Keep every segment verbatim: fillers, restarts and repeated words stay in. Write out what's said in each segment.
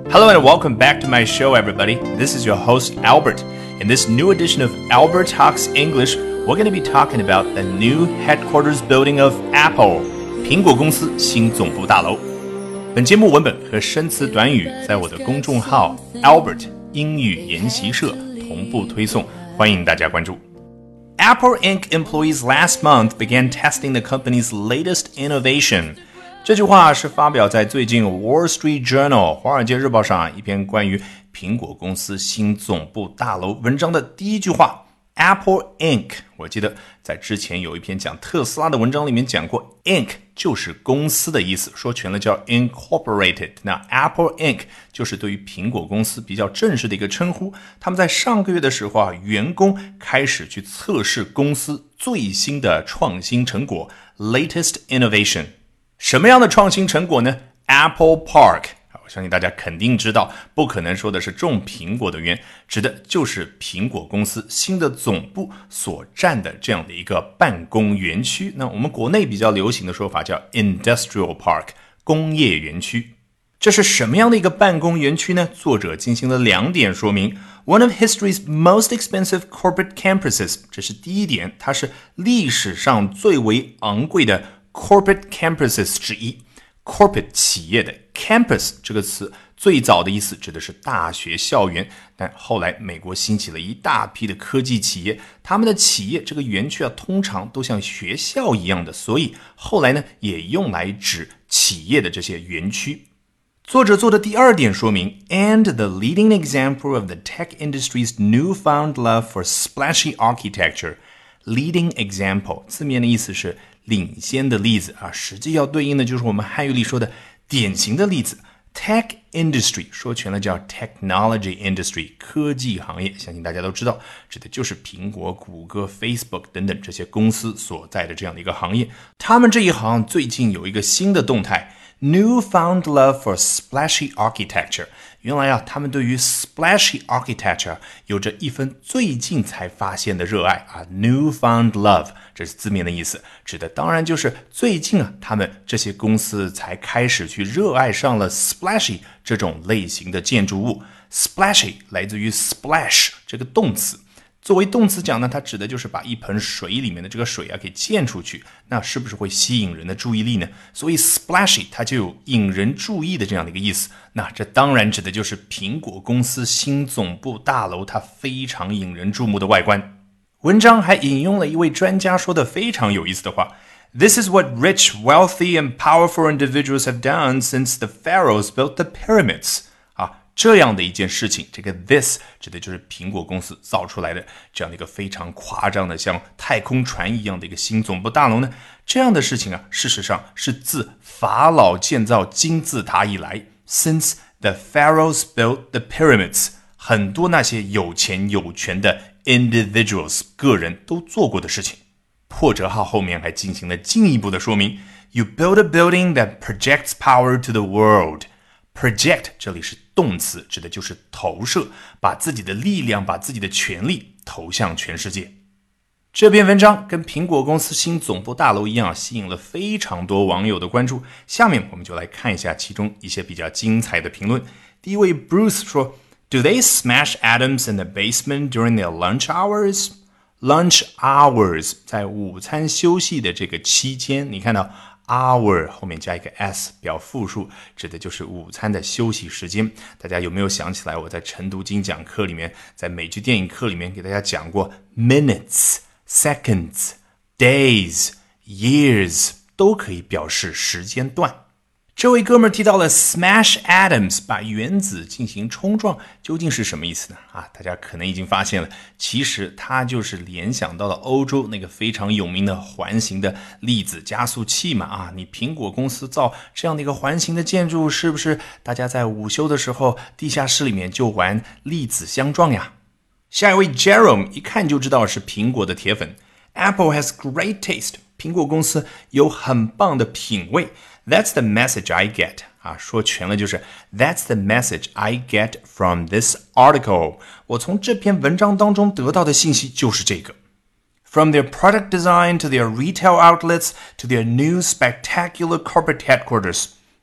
Hello and welcome back to my show, everybody. This is your host, Albert. In this new edition of Albert Talks English, we're going to be talking about the new headquarters building of Apple, 苹果公司新总部大楼。本节目文本和生词短语在我的公众号 Albert 英语研习社同步推送，欢迎大家关注。Apple Incorporated employees last month began testing the company's latest innovation.这句话是发表在最近 Wall Street Journal 华尔街日报上一篇关于苹果公司新总部大楼文章的第一句话 Apple Incorporated 我记得在之前有一篇讲特斯拉的文章里面讲过 Inc 就是公司的意思，说全了叫 Incorporated。 那 Apple Incorporated 就是对于苹果公司比较正式的一个称呼。他们在上个月的时候啊，员工开始去测试公司最新的创新成果 Latest Innovation。什么样的创新成果呢？ Apple Park， 我相信大家肯定知道，不可能说的是种苹果的园，指的就是苹果公司新的总部所占的这样的一个办公园区。那我们国内比较流行的说法叫 Industrial Park， 工业园区。这是什么样的一个办公园区呢？作者进行了两点说明。 One of history's most expensive corporate campuses， 这是第一点，它是历史上最为昂贵的Corporate campuses 之一。 Corporate 企业的 campus 这个词最早的意思指的是大学校园，但后来美国兴起了一大批的科技企业，他们的企业这个园区啊，通常都像学校一样的，所以后来呢也用来指企业的这些园区。作者做的第二点说明 And the leading example of the tech industry's newfound love for splashy architecture。 Leading example 字面的意思是领先的例子啊，实际要对应的就是我们汉语里说的典型的例子。 Tech industry 说全了叫 Technology industry， 科技行业，相信大家都知道，指的就是苹果、谷歌、Facebook 等等这些公司所在的这样的一个行业。他们这一行最近有一个新的动态， Newfound love for splashy architecture。 原来啊，他们对于 splashy architecture 有着一份最近才发现的热爱啊 Newfound love， 这是字面的意思，指的当然就是最近啊，他们这些公司才开始去热爱上了 splashy 这种类型的建筑物。 Splashy 来自于 splash 这个动词，作为动词讲呢，它指的就是把一盆水里面的这个水啊给溅出去，那是不是会吸引人的注意力呢？所以 splashy 它就有引人注意的这样的一个意思。那这当然指的就是苹果公司新总部大楼它非常引人注目的外观。文章还引用了一位专家说的非常有意思的话， This is what rich, wealthy and powerful individuals have done since the pharaohs built the pyramids。这样的一件事情，这个 this 指的就是苹果公司造出来的这样的一个非常夸张的像太空船一样的一个新总部大楼呢。这样的事情啊，事实上是自法老建造金字塔以来 since the pharaohs built the pyramids， 很多那些有钱有权的 individuals 个人都做过的事情。破折号后面还进行了进一步的说明， You build a building that projects power to the world。Project 这里是动词，指的就是投射，把自己的力量，把自己的权力投向全世界。这篇文章跟苹果公司新总部大楼一样，吸引了非常多网友的关注。下面我们就来看一下其中一些比较精彩的评论。第一位 Bruce 说 Do they smash atoms in the basement during their lunch hours? Lunch hours 在午餐休息的这个期间，你看到hour 后面加一个 s 表复数，指的就是午餐的休息时间。大家有没有想起来我在晨读精讲课里面，在美剧电影课里面给大家讲过 minutes, seconds, days, years 都可以表示时间段。这位哥们儿提到了 smash atoms， 把原子进行冲撞，究竟是什么意思呢？啊，大家可能已经发现了，其实它就是联想到了欧洲那个非常有名的环形的粒子加速器嘛。啊，你苹果公司造这样的一个环形的建筑，是不是大家在午休的时候，地下室里面就玩粒子相撞呀？下一位 Jerome 一看就知道是苹果的铁粉。Apple has great taste， 苹果公司有很棒的品味。That's the message I get 啊，说全了就是 That's the message I get from this article。 我从这篇文章当中得到的信息就是这个。From their product design to their retail outlets to their new spectacular corporate headquarters，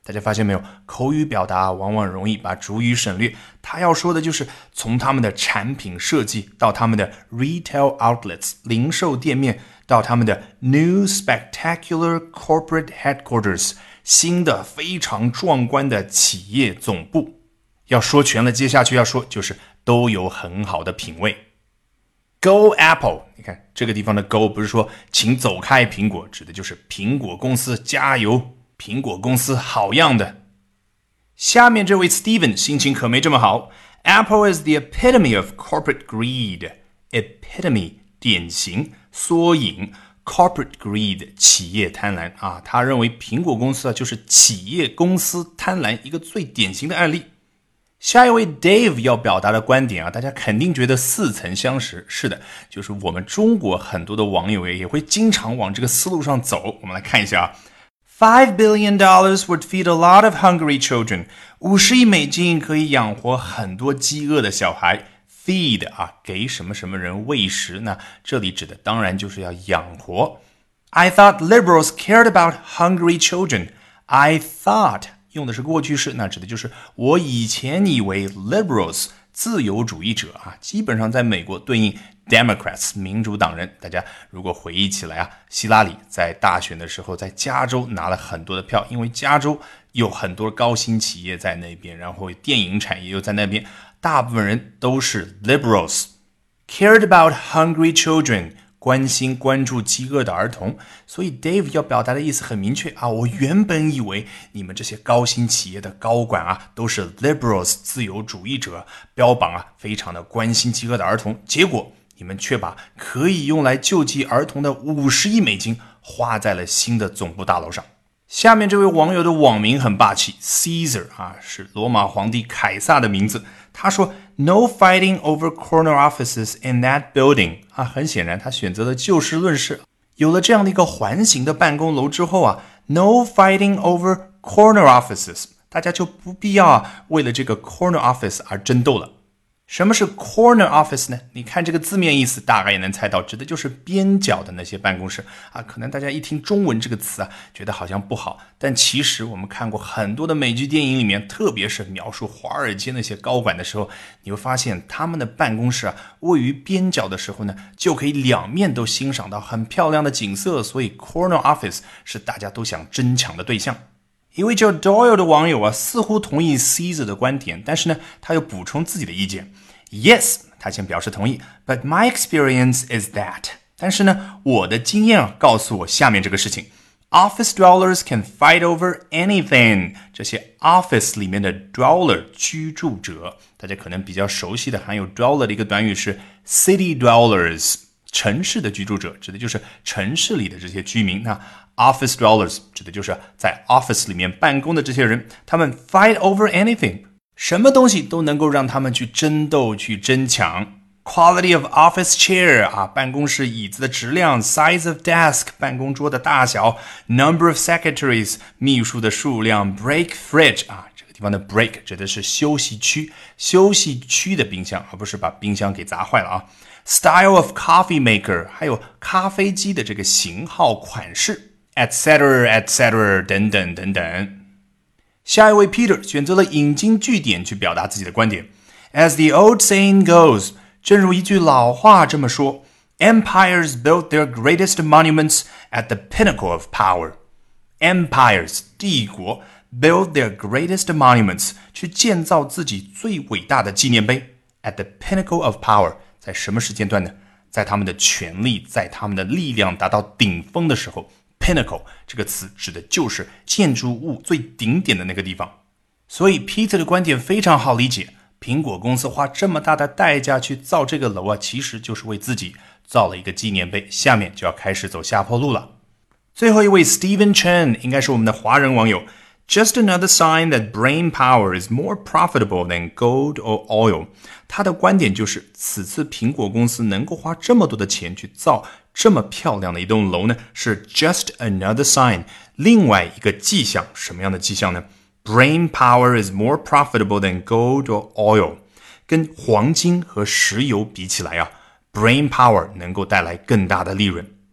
大家发现没有，口语表达往往容易把主语省略，他要说的就是从他们的产品设计到他们的 retail outlets 零售店面，到他们的 new spectacular corporate headquarters 新的非常壮观的企业总部。要说全了，接下去要说就是都有很好的品味。Go Apple， 你看这个地方的 Go 不是说请走开苹果，指的就是苹果公司加油，苹果公司好样的。下面这位 Steven 心情可没这么好。 Apple is the epitome of corporate greed. Epitome 典型缩影， corporate greed 企业贪婪啊，他认为苹果公司啊就是企业公司贪婪一个最典型的案例。下一位 Dave 要表达的观点啊，大家肯定觉得似曾相识。是的，就是我们中国很多的网友也会经常往这个思路上走。我们来看一下啊 Five billion dollars would feed a lot of hungry children. 五十亿美金可以养活很多饥饿的小孩。Feed 啊，给什么什么人喂食，那这里指的当然就是要养活。I thought liberals cared about hungry children. I thought用的是过去式，那指的就是我以前以为 liberals 自由主义者啊，基本上在美国对应 Democrats 民主党人。大家如果回忆起来啊，希拉里在大选的时候在加州拿了很多的票，因为加州有很多高新企业在那边，然后电影产业又在那边，大部分人都是 liberals。 Cared about hungry children，关心关注饥饿的儿童。所以 Dave 要表达的意思很明确啊，我原本以为你们这些高新企业的高管啊都是 liberals 自由主义者，标榜啊非常的关心饥饿的儿童，结果你们却把可以用来救济儿童的五十亿美金花在了新的总部大楼上。下面这位网友的网名很霸气， Caesar 啊，是罗马皇帝凯撒的名字。他说 No fighting over corner offices in that building 啊，很显然他选择了就事论事。有了这样的一个环形的办公楼之后啊 No fighting over corner offices， 大家就不必要啊为了这个 corner office 而争斗了。什么是 corner office 呢？你看这个字面意思大概也能猜到，指的就是边角的那些办公室啊。可能大家一听中文这个词啊，觉得好像不好，但其实我们看过很多的美剧电影里面，特别是描述华尔街那些高管的时候，你会发现他们的办公室啊位于边角的时候呢，就可以两面都欣赏到很漂亮的景色，所以 corner office 是大家都想争抢的对象。一位叫 Doyle 的网友啊，似乎同意 Caesar 的观点，但是呢，他又补充自己的意见。Yes， 他先表示同意 ，But my experience is that。但是呢，我的经验啊，告诉我下面这个事情 ：Office dwellers can fight over anything。这些 office 里面的 dweller 居住者，大家可能比较熟悉的含有 dweller 的一个短语是 city dwellers， 城市的居住者，指的就是城市里的这些居民。那Office dwellers 指的就是在 office 里面办公的这些人，他们 fight over anything， 什么东西都能够让他们去争斗、去争抢。Quality of office chair 啊，办公室椅子的质量 ，size of desk 办公桌的大小 ，number of secretaries 秘书的数量 ，break fridge 啊，这个地方的 break 指的是休息区，休息区的冰箱，而不是把冰箱给砸坏了啊。Style of coffee maker 还有咖啡机的这个型号款式。etc etc 等等等等。下一位 Peter 选择了引经据典去表达自己的观点。As the old saying goes， 正如一句老话这么说 ，Empires built their greatest monuments at the pinnacle of power. Empires 帝国 built their greatest monuments 去建造自己最伟大的纪念碑 at the pinnacle of power， 在什么时间段呢？在他们的权力，在他们的力量达到顶峰的时候。Pinnacle 这个词指的就是建筑物最顶点的那个地方。所以 Peter 的观点非常好理解，苹果公司花这么大的代价去造这个楼啊，其实就是为自己造了一个纪念碑，下面就要开始走下坡路了。最后一位 Steven Chen 应该是我们的华人网友。Just another sign that brain power is more profitable than gold or oil。 他的观点就是，此次苹果公司能够花这么多的钱去造这么漂亮的一栋楼呢，是 just another sign， 另外一个迹象。什么样的迹象呢？ Brain power is more profitable than gold or oil。 跟黄金和石油比起来啊， brain power 能够带来更大的利润。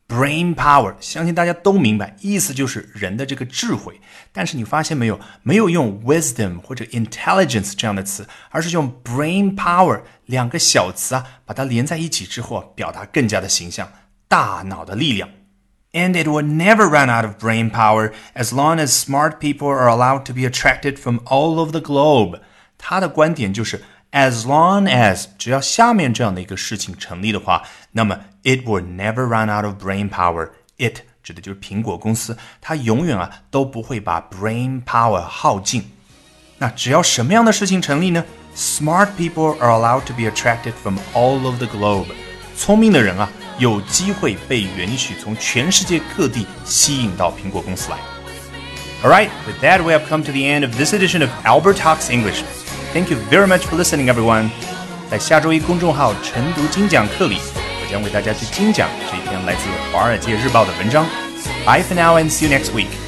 brain power 相信大家都明白，意思就是人的这个智慧。但是你发现没有，没有用 wisdom 或者 intelligence 这样的词，而是用 brain power 两个小词啊，把它连在一起之后，表达更加的形象，大脑的力量。And it will never run out of brain power as long as smart people are allowed to be attracted from all over the globe. 他的观点就是As long as 只要下面这样的一个事情成立的话，那么 it will never run out of brain power. It 指的就是苹果公司，它永远啊都不会把 brain power 耗尽。那只要什么样的事情成立呢？ Smart people are allowed to be attracted from all over the globe. 聪明的人啊，有机会被允许从全世界各地吸引到苹果公司来。Alright, with that we have come to the end of this edition of Albert Talks English.Thank you very much for listening, everyone. 在下周一公众号晨读精讲课里，我将为大家去精讲这一篇来自《华尔街日报》的文章。Bye for now and see you next week.